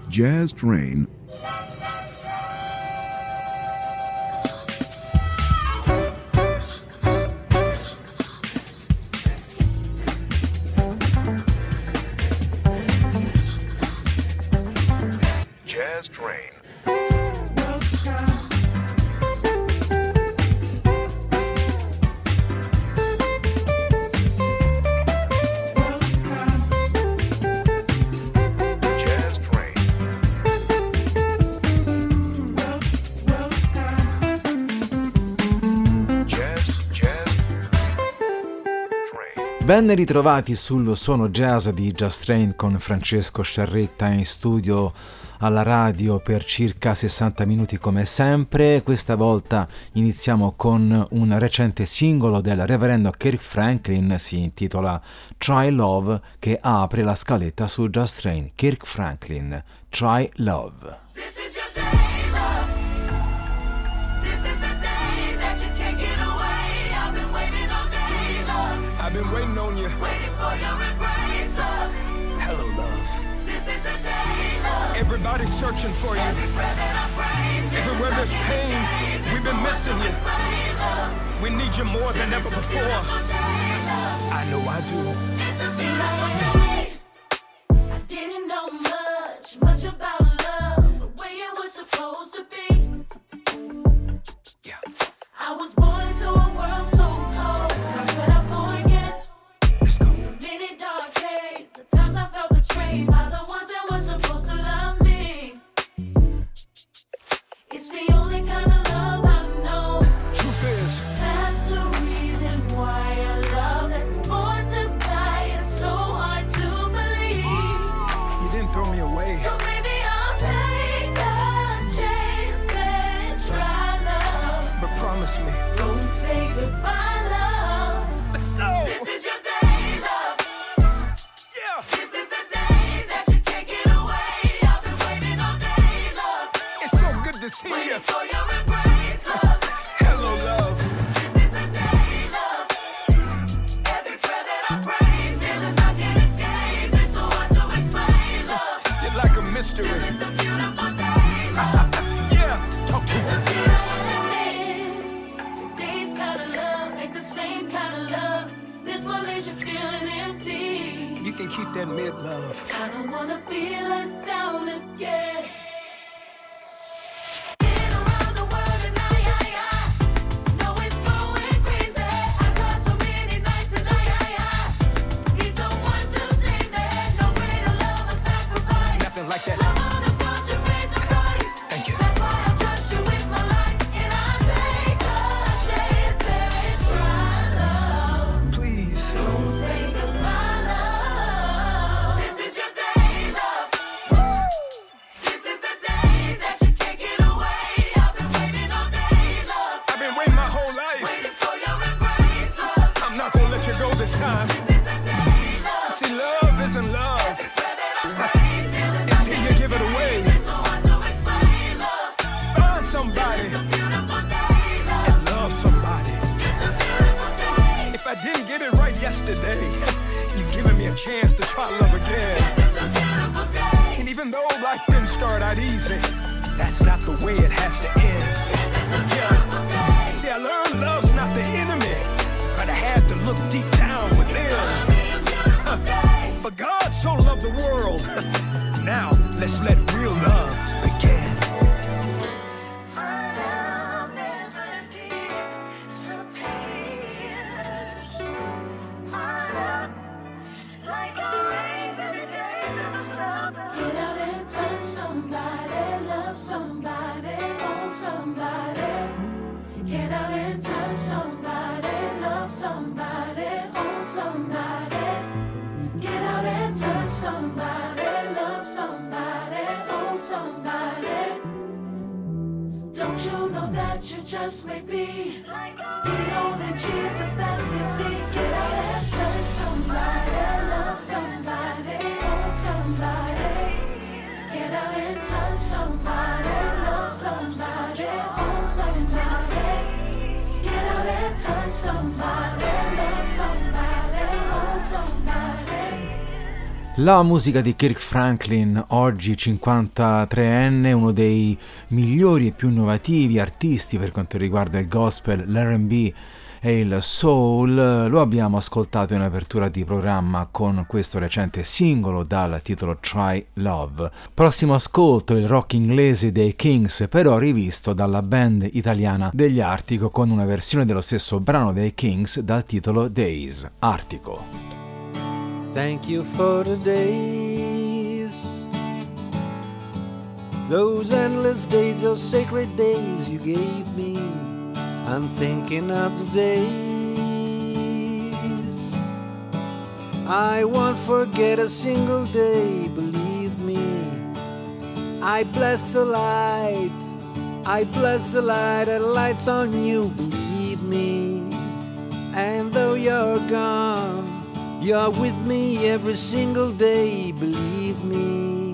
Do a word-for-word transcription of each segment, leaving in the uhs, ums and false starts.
Jazz Train. Ben ritrovati sul Suono Jazz di Jazz Train con Francesco Sciarretta in studio alla radio per circa sessanta minuti come sempre. Questa volta iniziamo con un recente singolo del reverendo Kirk Franklin, si intitola Try Love, che apre la scaletta su Jazz Train. Kirk Franklin, Try Love. I've been waiting on you. Waiting for your embrace, love. Hello, love. This is the day, love. Everybody's searching for you. Every breath that I breathe, everywhere there's pain, we've been missing you. We need you more than ever before. I know I do. It seemed like I didn't know much, much about love, the way it was supposed to be. Yeah. I was born into a world so cold. How could I forget? Let's go. Many dark days, the times I felt betrayed by the ones that were supposed to love me. It's the only kind of love I know. Truth is, that's the reason why a love that's born to die is so hard to believe. You didn't throw me away. So maybe I'll take a chance and try love. But promise me, don't say goodbye, love. Let's go. This is your day, love. Yeah. This is the day that you can't get away. I've been waiting all day, love. It's so good to see waiting you. For your embrace, love. Hello, love. This is the day, love. Every prayer that I pray, feelings I can't escape. It's so hard to explain, love. You're like a mystery. It's a beautiful day, love. Yeah, talk to us. Today's kind of love ain't the same kind of love. This one leaves you feeling empty. You can keep that mid love. I don't wanna be let down again. Been around the world and I, I, I know it's going crazy. I cried so many nights and I, I, I need someone to save me. No greater love or sacrifice. Nothing like that. Love on the cross, you paid the price. Thank you. That's why I trust you with my life, and I take a chance and try love. Please don't say goodbye, love. This is your day, love. This is the day that you can't get away. I've been waiting all day, love. I've been waiting my whole life. Waiting for your embrace, love. I'm not gonna let you go this time. This is the day, love. See, love isn't love until you give it away. So hard to explain, love. Find somebody and love somebody. If I didn't get it right yesterday, you've given me a chance to try love again. And even though life didn't start out easy, that's not the way it has to end. Yeah. See, I learned love's not the enemy, but I had to look deep down within. For God so loved the world. Now let's let real love begin. Get out and touch somebody, love somebody, hold somebody. Get out and touch somebody, love somebody, hold somebody. Get out and touch somebody, love somebody, hold somebody. Don't you know that you just may be the only Jesus that we see? Get out and touch somebody, love somebody, hold somebody. Get out and touch somebody, love somebody, hold somebody. Get out and touch somebody, love somebody, hold somebody. La musica di Kirk Franklin, oggi cinquantatreenne, uno dei migliori e più innovativi artisti per quanto riguarda il gospel, l'R and B e il soul, lo abbiamo ascoltato in apertura di programma con questo recente singolo dal titolo Try Love. Prossimo ascolto, il rock inglese dei Kings, però rivisto dalla band italiana degli Artico con una versione dello stesso brano dei Kings dal titolo Days. Artico. Thank you for the days, those endless days, those sacred days you gave me. I'm thinking of the days I won't forget a single day, believe me. I bless the light, I bless the light that lights on you, believe me. And though you're gone, you're with me every single day, believe me.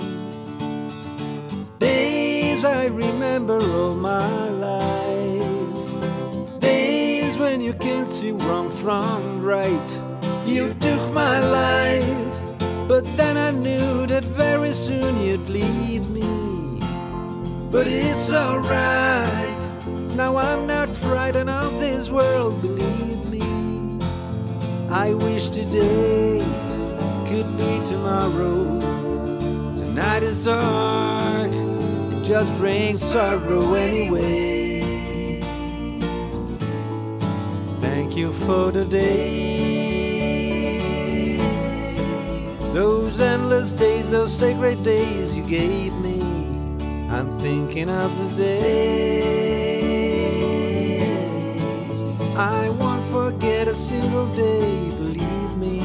Days I remember all my life, days when you can't see wrong from right. You took my life, but then I knew that very soon you'd leave me. But it's alright, now I'm not frightened of this world, believe me. I wish today could be tomorrow. The night is dark, it just brings sorrow anyway. Thank you for the days, those endless days, those sacred days you gave me. I'm thinking of the days I won't forget a single day, believe me.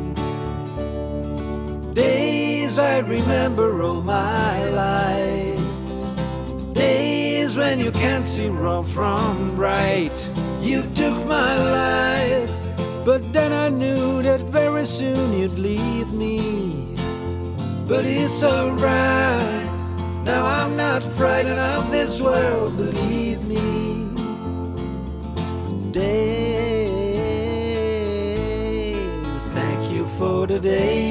Days I remember all my life, days when you can't see wrong from right. You took my life, but then I knew that very soon you'd leave me. But it's alright, now I'm not frightened of this world, believe me. Days, thank you for the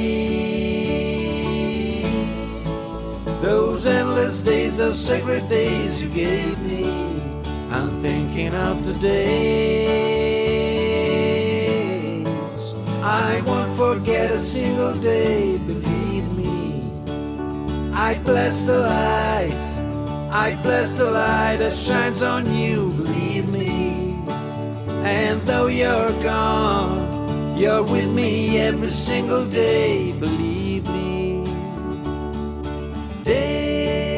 days, those endless days, those sacred days you gave me. I'm thinking of the days I won't forget a single day, believe me. I bless the light, I bless the light that shines on you, believe me. And though you're gone, you're with me every single day, believe me. Days.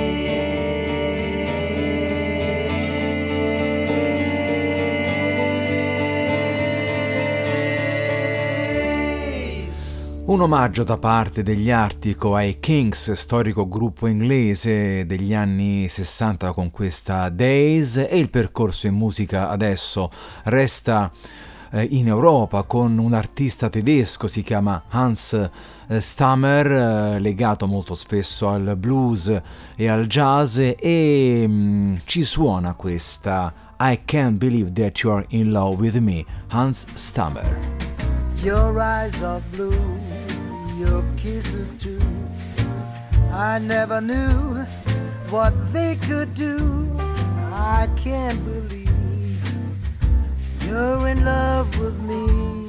Un omaggio da parte degli Artico ai Kings, storico gruppo inglese degli anni sessanta con questa Days, e il percorso in musica adesso resta eh, in Europa con un artista tedesco, si chiama Hans eh, Stammer, eh, legato molto spesso al blues e al jazz, e mh, ci suona questa I Can't Believe That You're in Love With Me, Hans Stammer. Your eyes are blue, your kisses too. I never knew what they could do. I can't believe you're in love with me.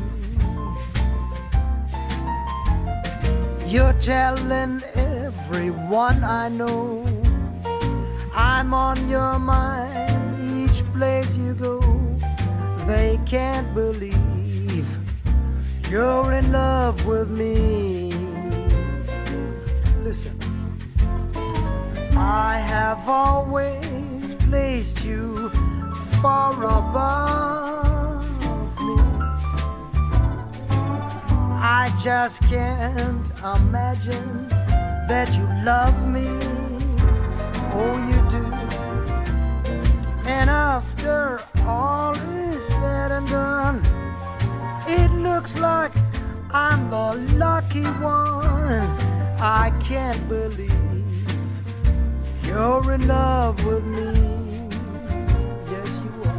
You're telling everyone I know I'm on your mind each place you go. They can't believe you're in love with me. Listen, I have always placed you far above me. I just can't imagine that you love me. Oh, you do. And after all is said and done, it looks like I'm the lucky one. I can't believe you're in love with me. Yes, you are.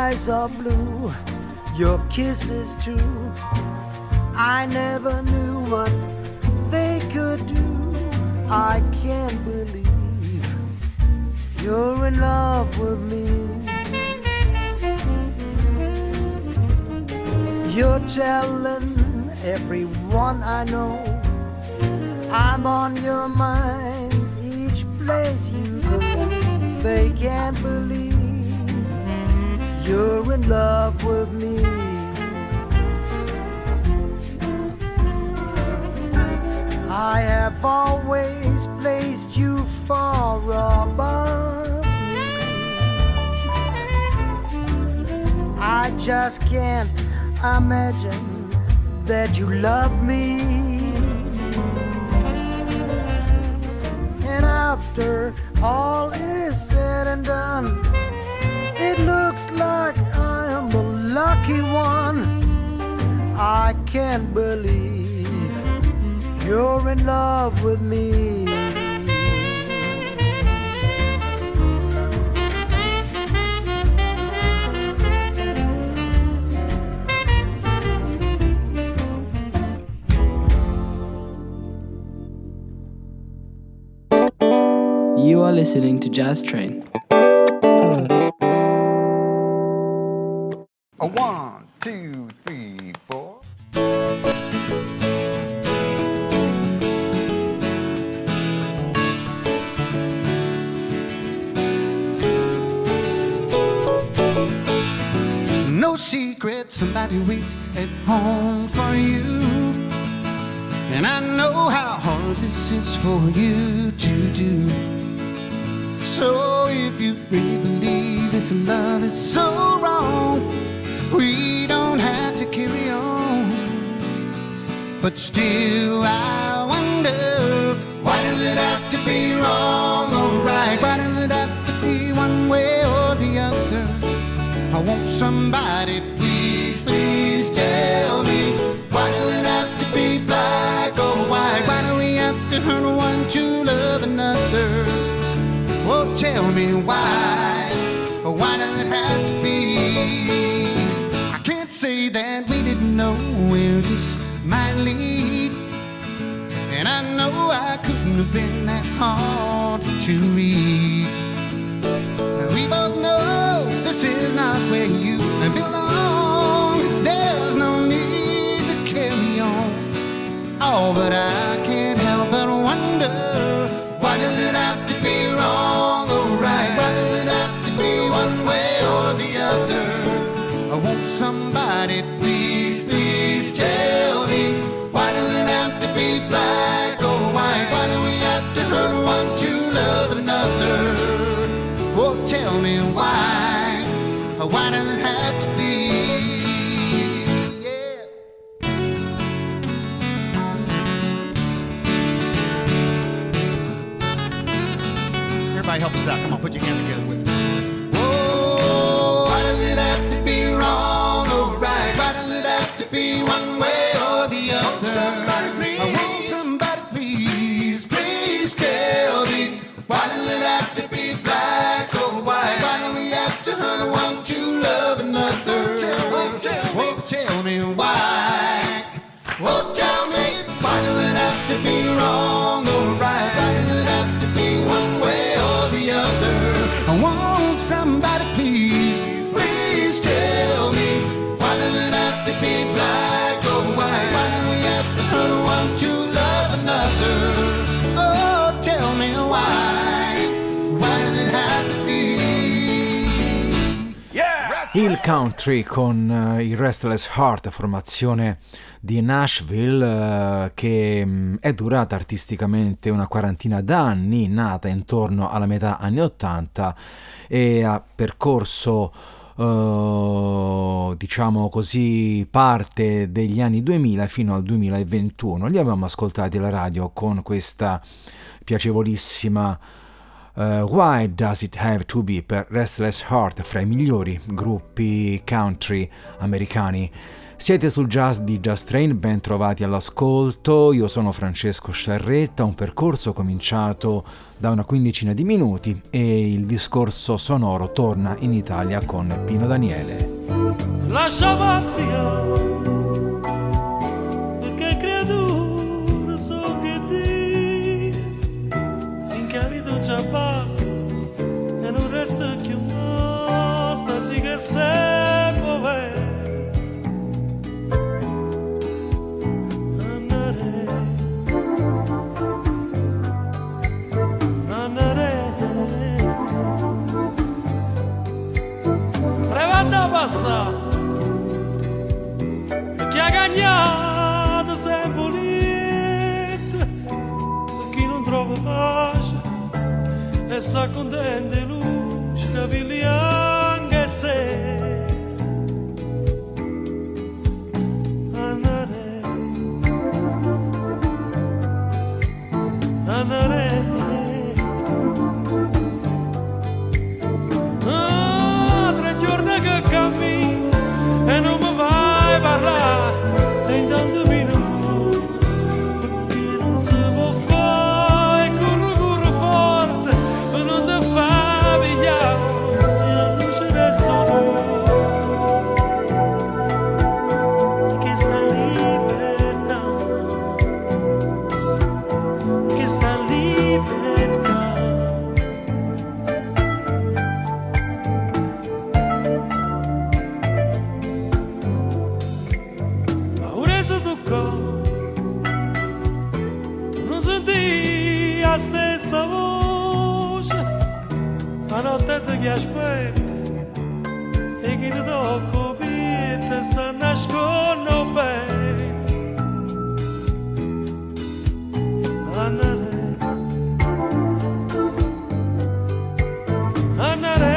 eyes are blue, your kisses too. I never knew what they could do. I can't believe you're in love with me. You're telling everyone I know I'm on your mind each place you go. They can't believe you're in love with me. I have always placed you far above me. I just can't imagine that you love me. And after all is said and done, it looks like I am the lucky one. I can't believe you're in love with me. You are listening to Jazz Train. A one, two, three, four. No secret, somebody waits at home for you. And I know how hard this is for you to do. So if you really believe this love is so wrong, we don't have to carry on. But still I wonder, why does it have to be wrong or right? Why does it have to be one way or the other? I want somebody, please, please tell me, why does it have to be black or white? Why do we have to hurt one to love another? Oh, tell me why, why does it have to be? I can't say that we didn't know where this might lead, and I know I couldn't have been that hard to read. We both know this is not where you belong. There's no need to carry on. Oh, but I can't help but wonder, why does it have to be wrong or right? Why does it have to be one way or the other? I want somebody, please, please tell me, why does it have to be black or white? Why do we have to hurt one to love another? Oh, tell me why, why does it have to be? Yeah. Everybody help us out. Come on, put your hands together with us. Oh, why does it have to be wrong or right? Why does it have to be one way or the other? Somebody please, I want somebody please, please tell me, why does it have to be black or white? Why do we have to hurt one to love another? Oh, tell, oh, tell me why. Oh, tell me, why does it have to be wrong or right? Why does it have to be one way or the other? I want somebody please, please tell me, why does it have to be black or white? Why do we have to hurt one to love another? Oh, tell me why, why does it have to be? Hill Country con uh, il Restless Heart, formazione di Nashville uh, che um, è durata artisticamente una quarantina d'anni, nata intorno alla metà anni ottanta e ha percorso uh, diciamo così parte degli anni duemila fino al duemilaventuno. Li abbiamo ascoltati alla radio con questa piacevolissima Uh, Why Does It Have to Be per Restless Heart, fra i migliori gruppi country americani Siete sul jazz di Jazz Train, ben trovati all'ascolto. Io sono Francesco Sciarretta, un percorso cominciato da una quindicina di minuti e il discorso sonoro torna in Italia con Pino Daniele. Lascia vazia, perché creatura so che ti, finché la vita già passa e non resta più nostra, di che sei povera. Passa chi ha gagnato sempre lieta, chi non trova pace e sa contente luce capelli anche se andare andare cammino e non mi vai parlare e intanto mi non perché non si può fare corro corro forte e non ti fa pigliare e non ci resto tu che sta libertà che sta libertà. Non senti la stessa voce, la notte ti aspetta e chi ti tocca vita si nasconde bene. Andare, andare.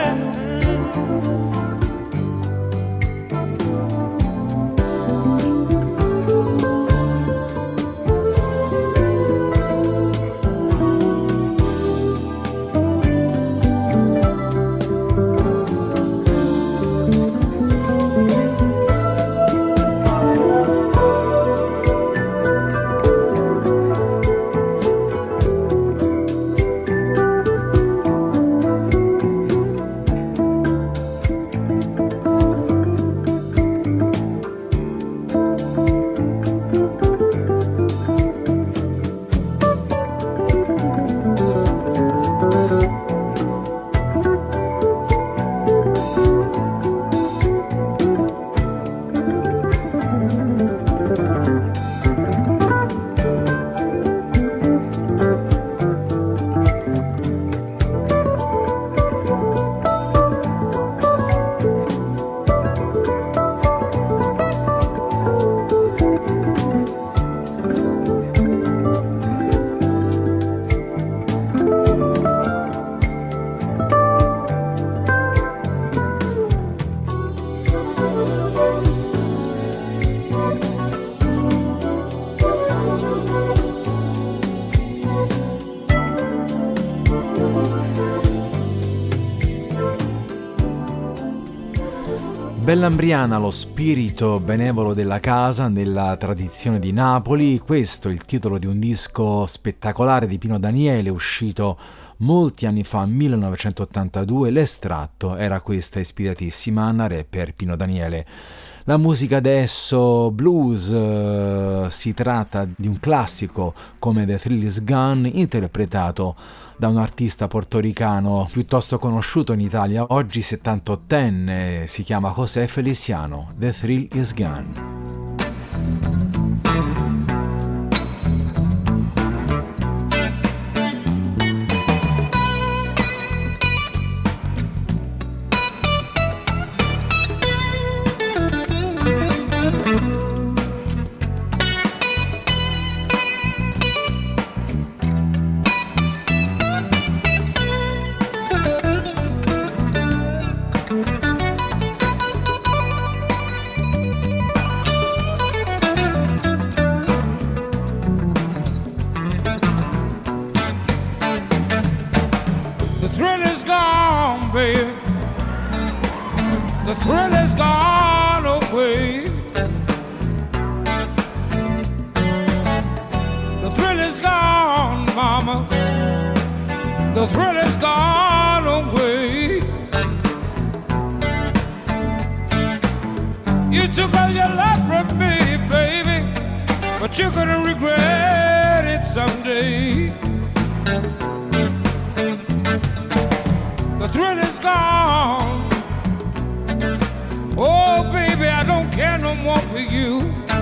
Bellambriana, lo spirito benevolo della casa nella tradizione di Napoli. Questo è il titolo di un disco spettacolare di Pino Daniele uscito molti anni fa, millenovecentottantadue. L'estratto era questa ispiratissima Anna Re per Pino Daniele. La musica adesso blues, eh, si tratta di un classico come The Thrill Is Gone, interpretato da un artista portoricano piuttosto conosciuto in Italia, oggi settantottenne, si chiama José Feliciano. The Thrill Is Gone. The thrill is gone away. You took all your love from me, baby, but you're gonna regret it someday. The thrill is gone. Oh, baby, I don't care no more for you.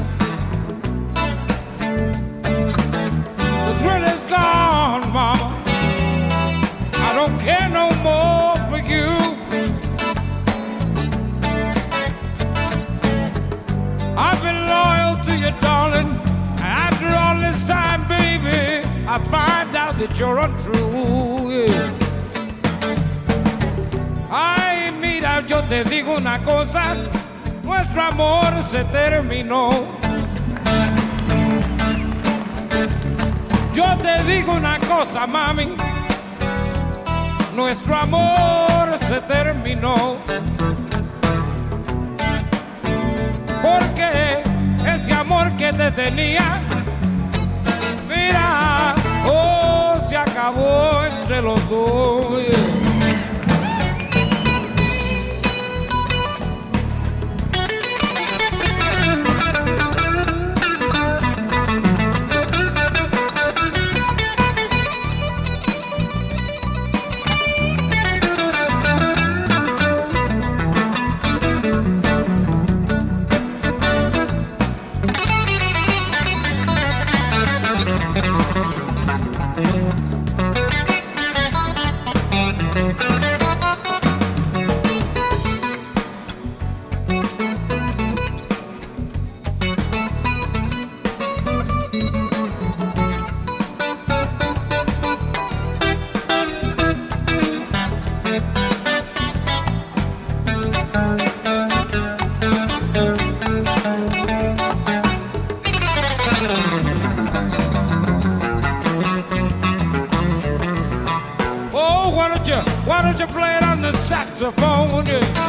The thrill is gone, mama. I don't care no more for you. I've been loyal to you, darling. After all this time, baby, I find out that you're untrue. Yeah. Ay, mira, yo te digo una cosa, nuestro amor se terminó. Yo te digo una cosa, mami, nuestro amor se terminó. Porque ese amor que te tenía, mira, oh, se acabó entre los dos. Yeah. Why don't you play it on the saxophone? Yeah.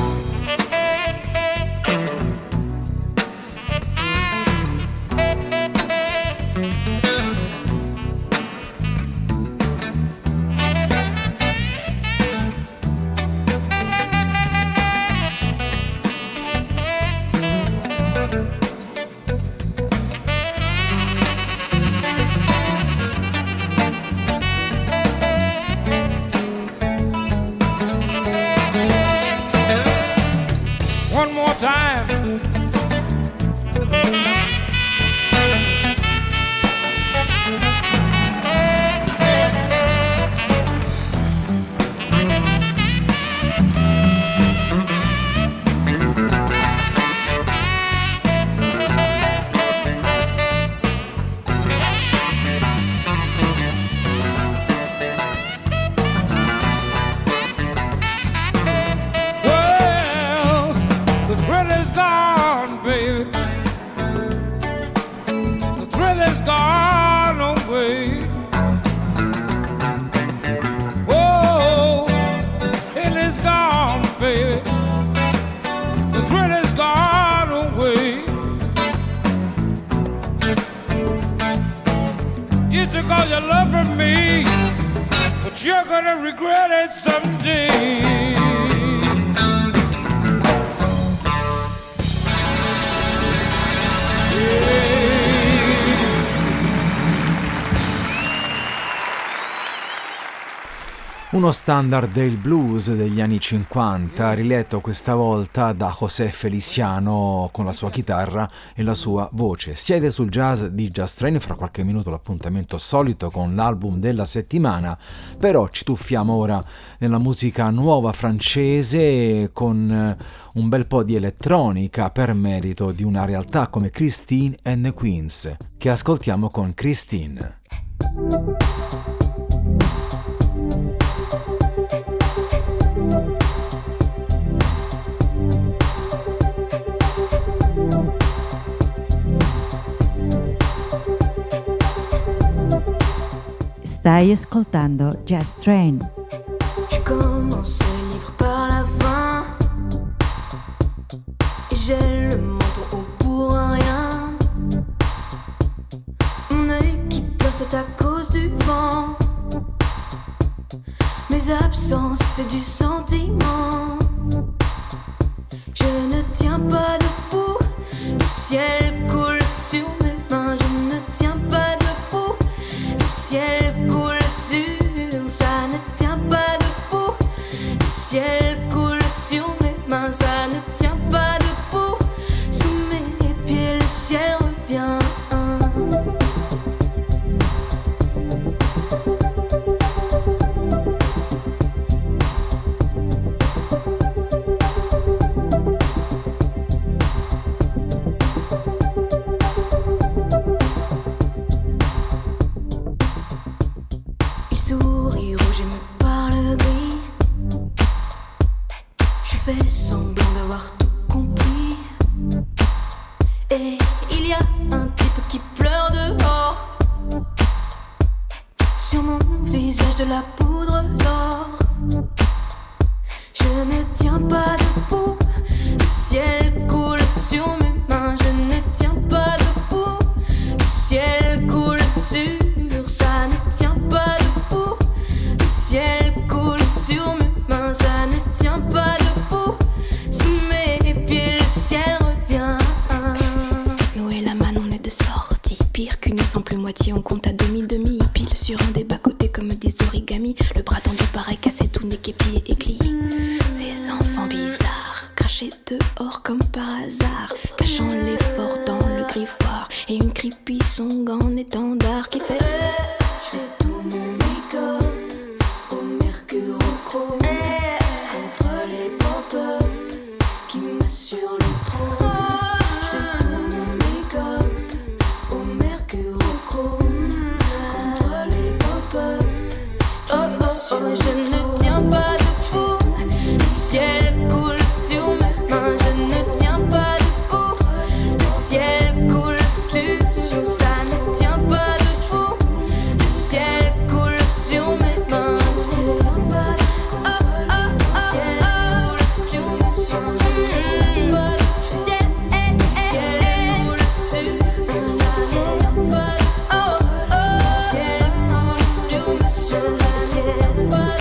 One more time. All your love from me, but you're gonna regret it someday. Uno standard del blues degli anni cinquanta, riletto questa volta da José Feliciano con la sua chitarra e la sua voce. Siete sul Jazz di Jazz Train, fra qualche minuto l'appuntamento solito con l'album della settimana, però ci tuffiamo ora nella musica nuova francese con un bel po' di elettronica per merito di una realtà come Christine and the Queens, che ascoltiamo con Christine. Stai ascoltando Jazz Train. J'ai commencé le livre par la fin et j'ai le menton haut pour rien. Mon œil qui pleure, c'est à cause du vent. mes absences, c'est du sentiment. Je ne tiens pas debout, le ciel coule sur mes mains. Je ne tiens pas debout, le ciel coule sur. Ça ne tient pas debout, le ciel coule sur mes mains. Ça ne tient pas debout, sous mes pieds le ciel revient. On compte à demi-demi, pile sur un des bas-côtés comme des origamis. Le bras tendu pareil, cassé tout nez, képi et éclit. Ces enfants bizarres, crachés dehors comme par hasard, cachant l'effort dans le griffoir. Et une creepy song en étendard qui fait Je fais tout mon make-up au mercure au chrome, contre les pop-up qui m'assurent le trône. Je fais tout mon make-up au mercure au chrome, contre les pop-up qui m'assurent le trône. Je ne tiens pas debout, le ciel coule sur mes mains. Je ne tiens pas debout, le ciel coule sur. Ça ne tient pas debout, le ciel coule sur mes mains. Je ne tiens pas debout, le ciel coule sur mes mains. Je ne tiens pas debout, le ciel coule sur. Ça ne tient pas debout, le ciel coule sur mes mains. Je ne tiens pas debout,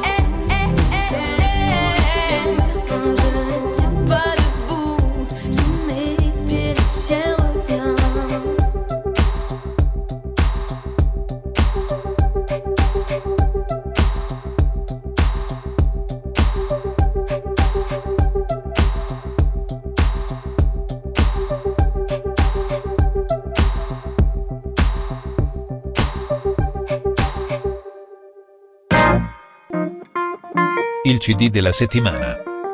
je ne tiens pas debout, sous mes pieds le ciel revient. Il C D della settimana.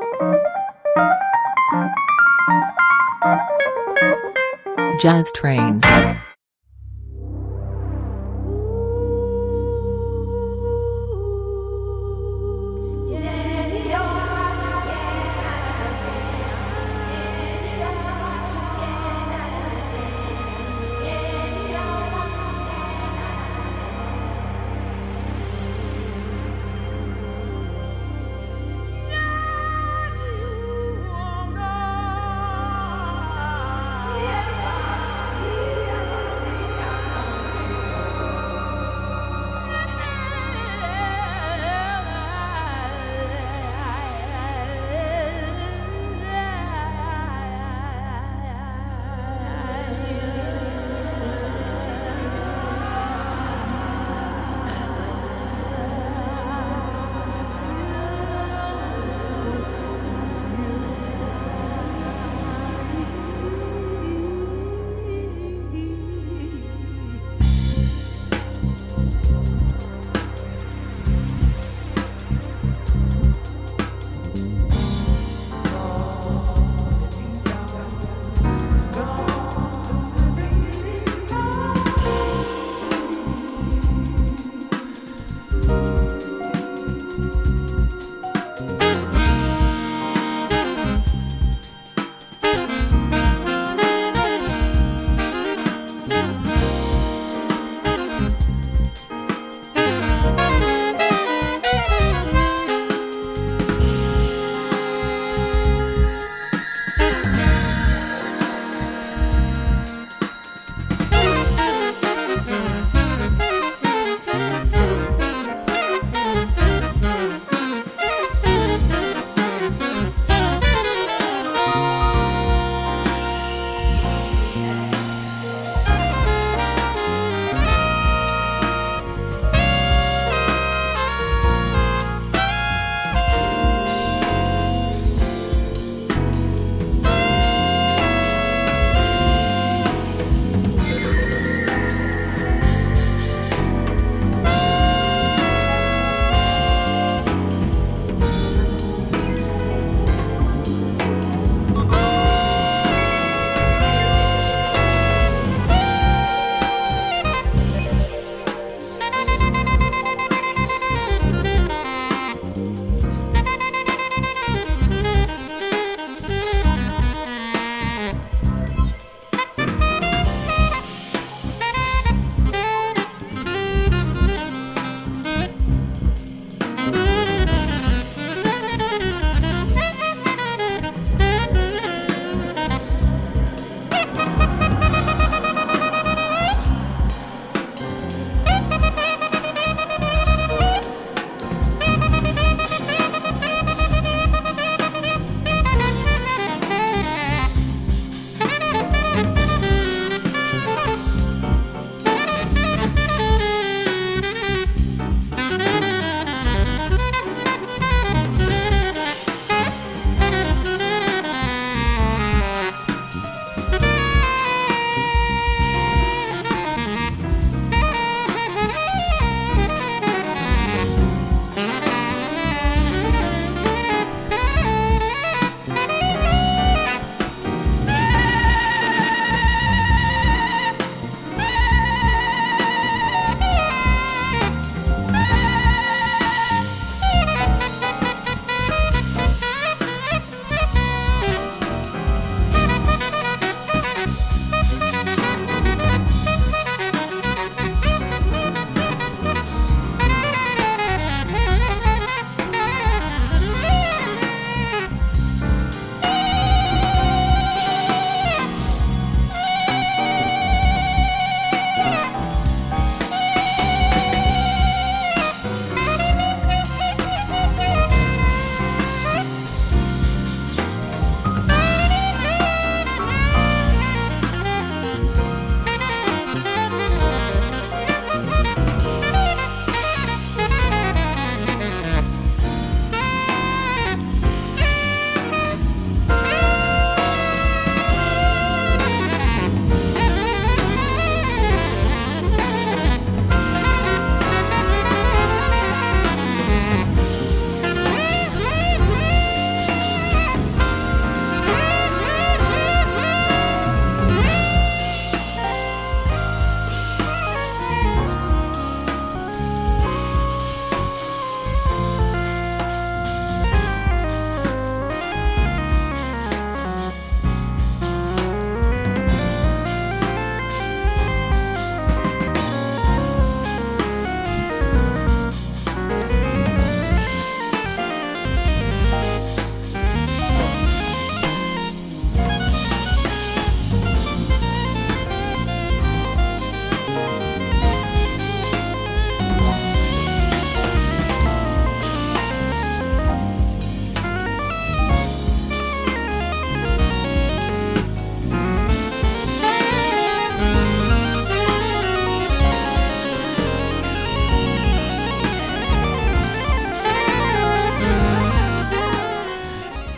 Jazz Train. Yeah.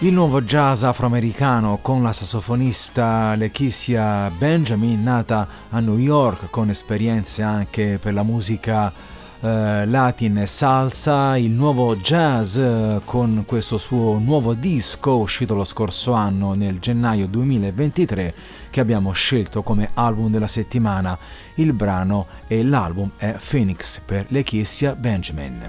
Il nuovo jazz afroamericano con la sassofonista Lakecia Benjamin, nata a New York con esperienze anche per la musica eh, latin e salsa. Il nuovo jazz eh, con questo suo nuovo disco uscito lo scorso anno nel gennaio duemilaventitré, che abbiamo scelto come album della settimana. Il brano e l'album è Phoenix per Lakecia Benjamin.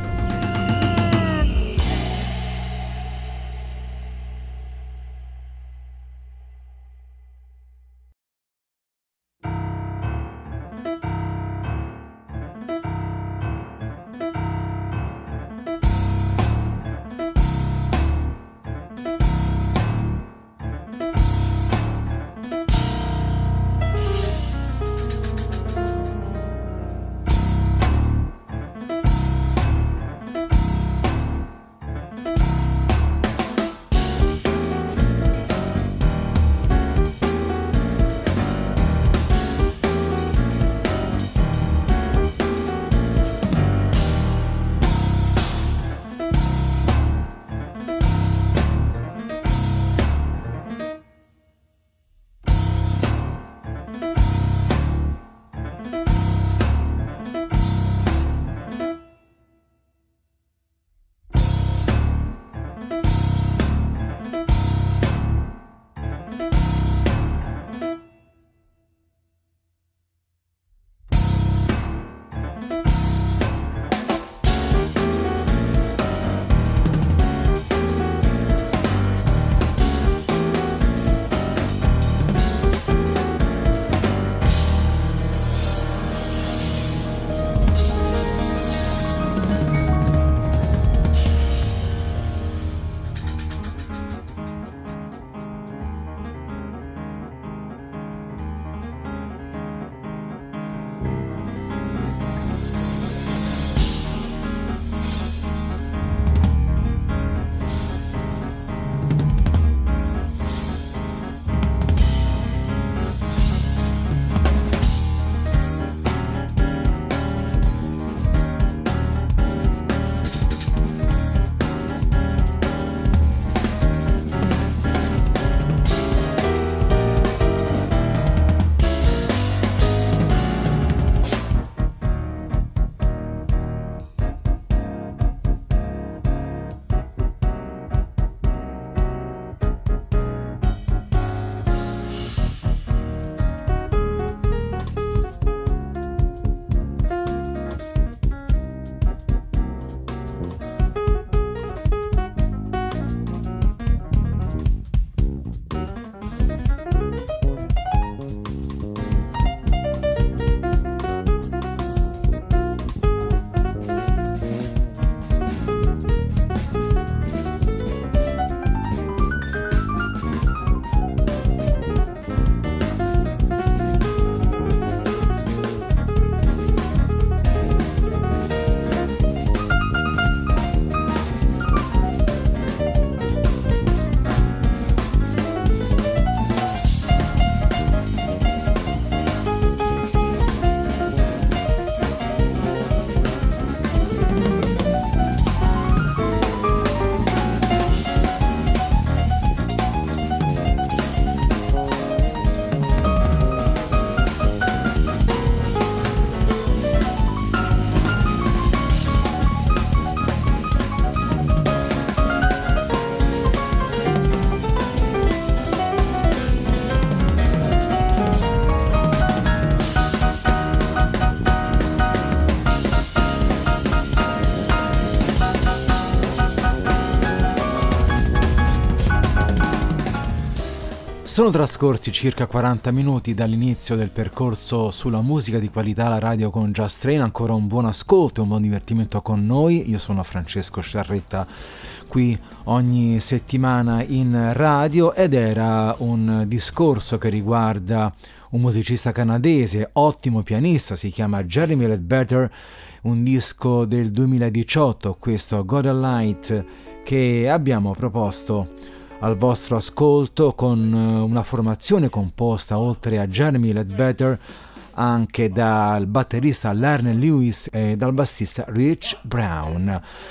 Sono trascorsi circa quaranta minuti dall'inizio del percorso sulla musica di qualità alla radio con Jazz Train. Ancora un buon ascolto e un buon divertimento con noi. Io sono Francesco Sciarretta, qui ogni settimana in radio, ed era un discorso che riguarda un musicista canadese, ottimo pianista, si chiama Jeremy Ledbetter, un disco del duemiladiciotto, questo God a Light, che abbiamo proposto al vostro ascolto con una formazione composta, oltre a Jeremy Ledbetter, anche dal batterista Larry Lewis e dal bassista Rich Brown.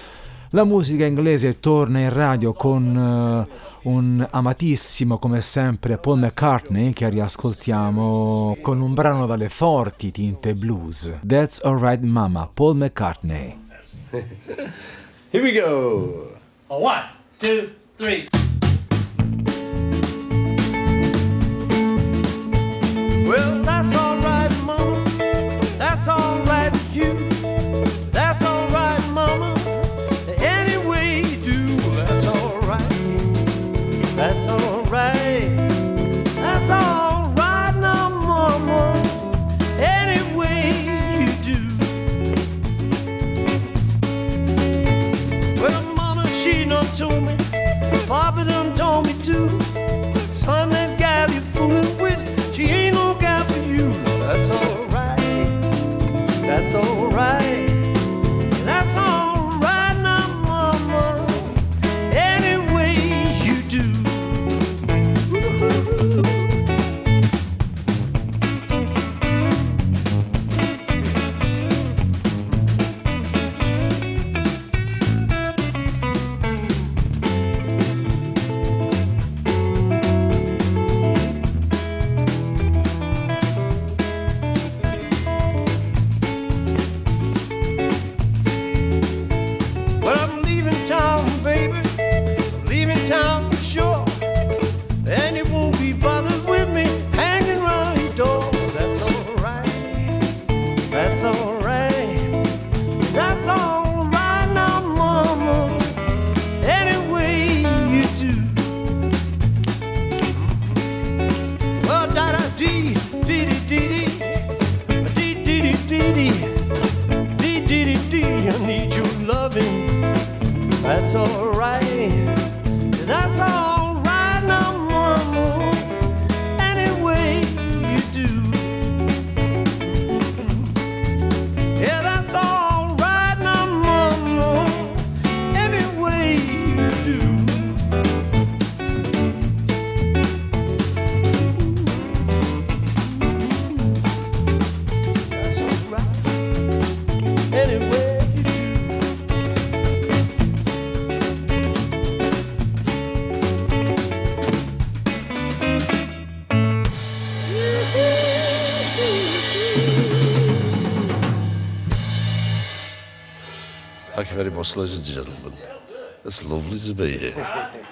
La musica inglese torna in radio con uh, un amatissimo come sempre Paul McCartney che riascoltiamo con un brano dalle forti tinte blues. That's Alright Mama, Paul McCartney. Here we go. One, two, three. Well, that's alright, mama. That's alright with you. That's alright, mama. Any way you do, that's alright. That's alright. That's alright now, mama. Any way you do. Well, mama, she done told me. Papa done told me too. Son, that gal you fooling with, she ain't no gal for you. That's alright. That's alright. That's alright now, mama. Any way you do. Woo-hoo. That's alright. That's alright now, mama. Any way you do. Yeah, that's alright now, mama. Any way you do. That's alright. Anyway. Thank you very much, ladies and gentlemen. It's lovely to be here.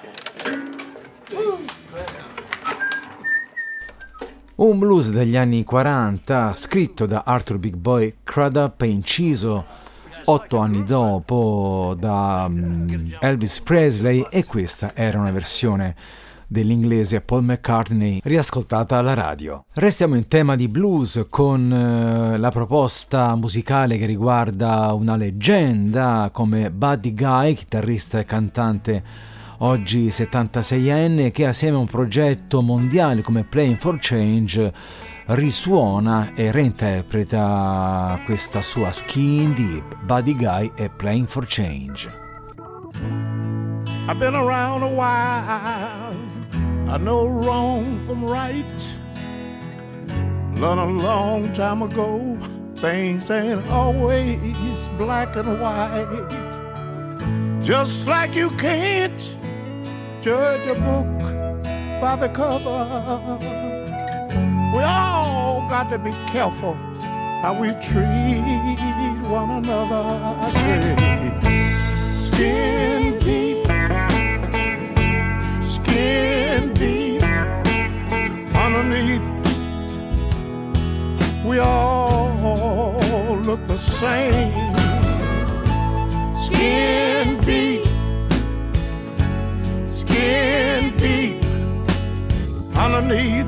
Un blues degli anni quaranta, scritto da Arthur Big Boy Crudup e inciso otto anni dopo da um, Elvis Presley, e questa era una versione dell'inglese Paul McCartney riascoltata alla radio. Restiamo in tema di blues con uh, la proposta musicale che riguarda una leggenda come Buddy Guy, chitarrista e cantante oggi settantaseienne, che assieme a un progetto mondiale come Playing for Change risuona e reinterpreta questa sua Skin Deep. Buddy Guy e Playing for Change. I've been around a while, I know wrong from right. Learned a long time ago, things ain't always black and white. Just like you can't judge a book by the cover, we all got to be careful how we treat one another. I say, skin deep, skin deep, underneath, we all look the same. Skin deep, skin deep, underneath,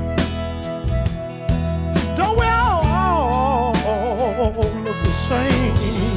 don't we all look the same?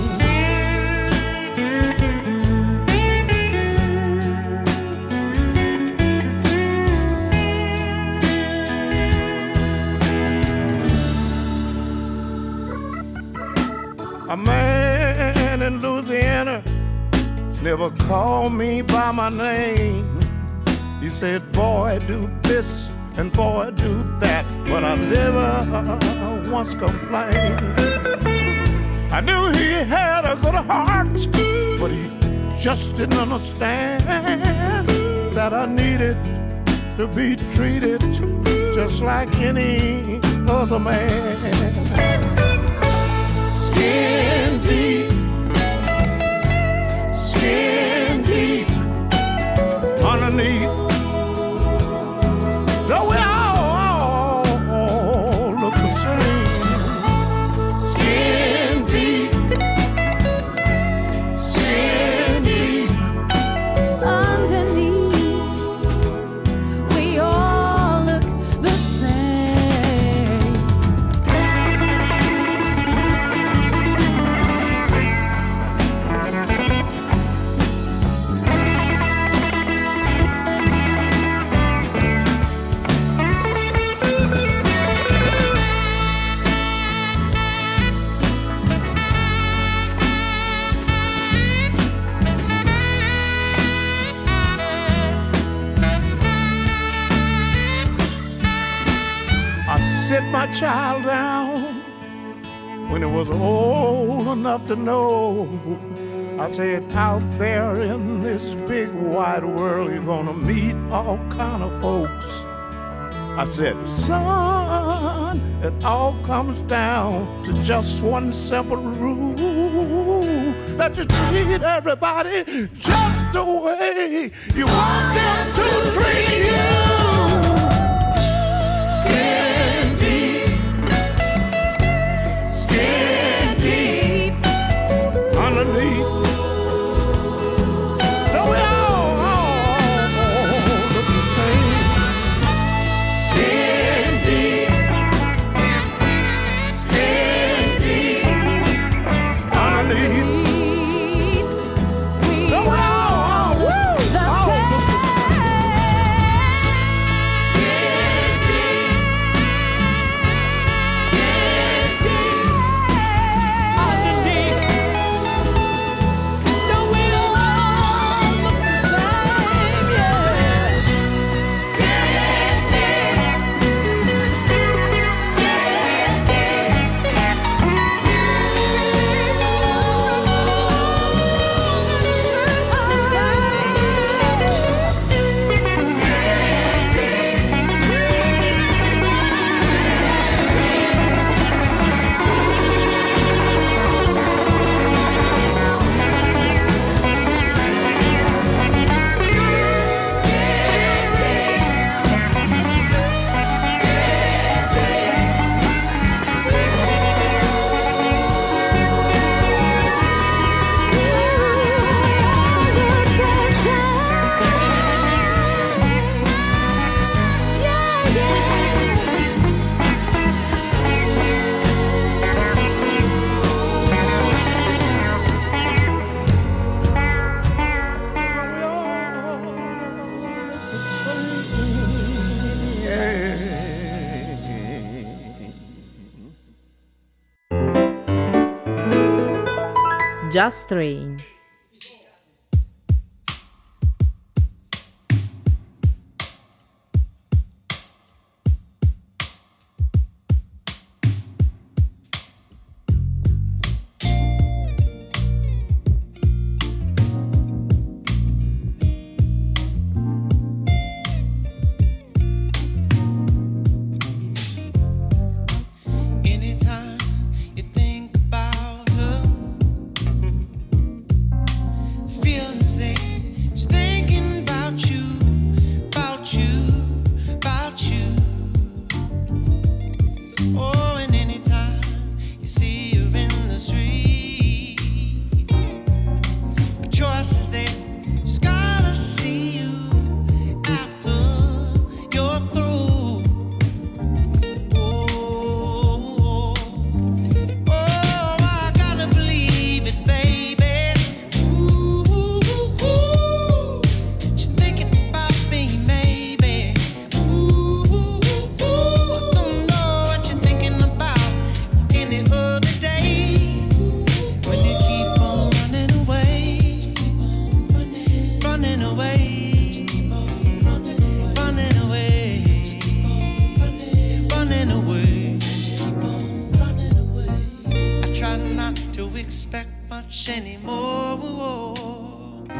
A man in Louisiana never called me by my name. He said, boy, do this and boy, do that, but I never once complained. I knew he had a good heart, but he just didn't understand that I needed to be treated just like any other man. Skin deep, skin deep, underneath. Though we all, all look the same. Skin deep, skin deep, underneath. We all look the same. I sit my child down when it was old enough to know. I said, out there in this big wide world, you're gonna meet all kind of folks. I said, son, it all comes down to just one simple rule, that you treat everybody just the way you want them to treat you. Skin deep, skin deep, underneath. So we all, all look the same. Skin deep, skin deep, underneath. So we all, all, woo, all look the Just Train. Anytime you think about her, feelings they just thinking about you, about you, about you. Oh, and anytime you see her in the street, the choice is there, just gotta see you after you're through. Expect much anymore.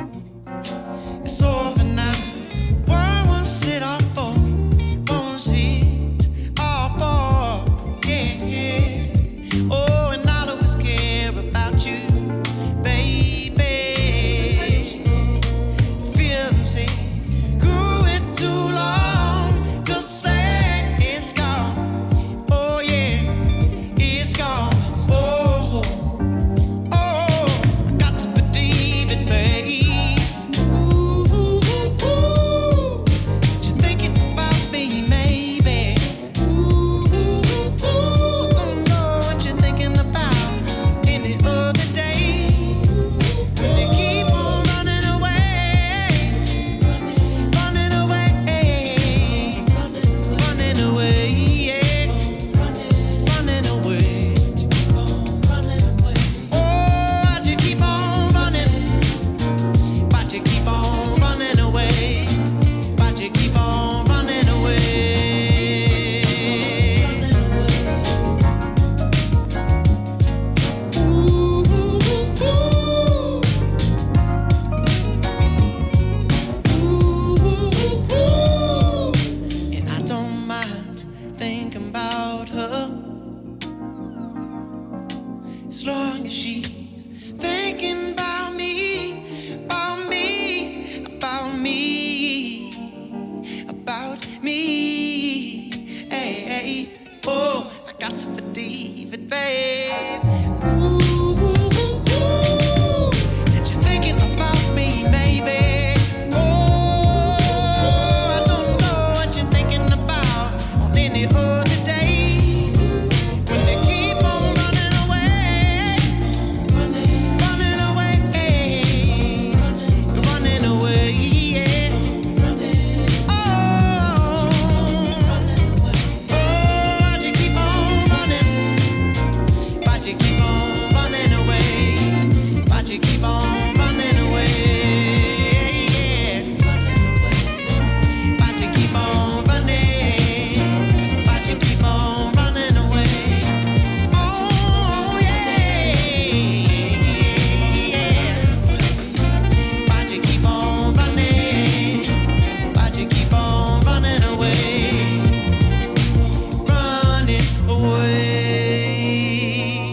as long as she's thinking about me, about me, about me, about me. Hey, hey, oh, I got to believe it, babe. Ooh, ooh, ooh, that you're thinking about me, maybe. Any other day, when they keep on running away, running, running away, running away, yeah. Oh, oh, why'd you keep on running? Why'd you keep on running away? Why'd you keep on running away? Yeah. Why'd you keep on running? Keep on running away. Oh yeah, yeah. Why'd you keep on running? Why'd you keep on running away? Running away.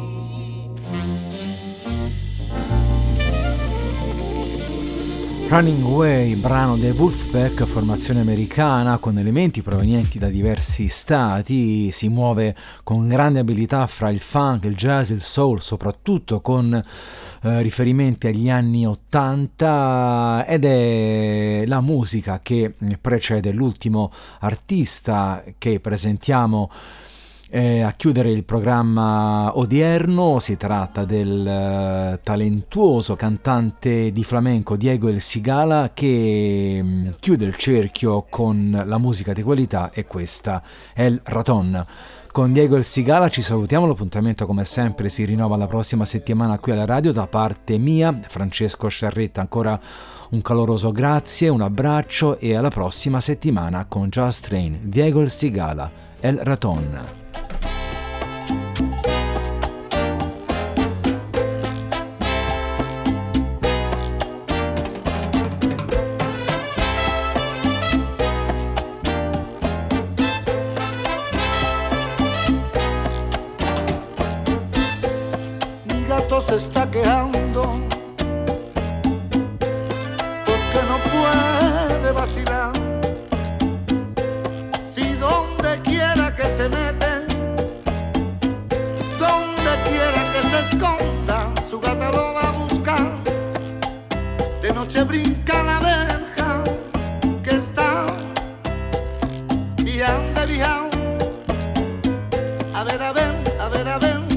Running Away, brano dei Wolfpack, formazione americana con elementi provenienti da diversi stati, si muove con grande abilità fra il funk, il jazz, il soul, soprattutto con eh, riferimenti agli anni ottanta, ed è la musica che precede l'ultimo artista che presentiamo Eh, a chiudere il programma odierno. Si tratta del eh, talentuoso cantante di flamenco Diego El Cigala, che mh, chiude il cerchio con la musica di qualità, e questa è El Raton. Con Diego El Cigala ci salutiamo, l'appuntamento come sempre si rinnova la prossima settimana qui alla radio. Da parte mia, Francesco Sciarretta, ancora un caloroso grazie, un abbraccio e alla prossima settimana con Just Train. Diego El Cigala, El Raton. Se está quejando porque no puede vacilar. Si donde quiera que se mete, donde quiera que se esconda, su gata lo va a buscar. De noche brinca la verja que está y anda viajado. A ver, a ver, a ver, a ver.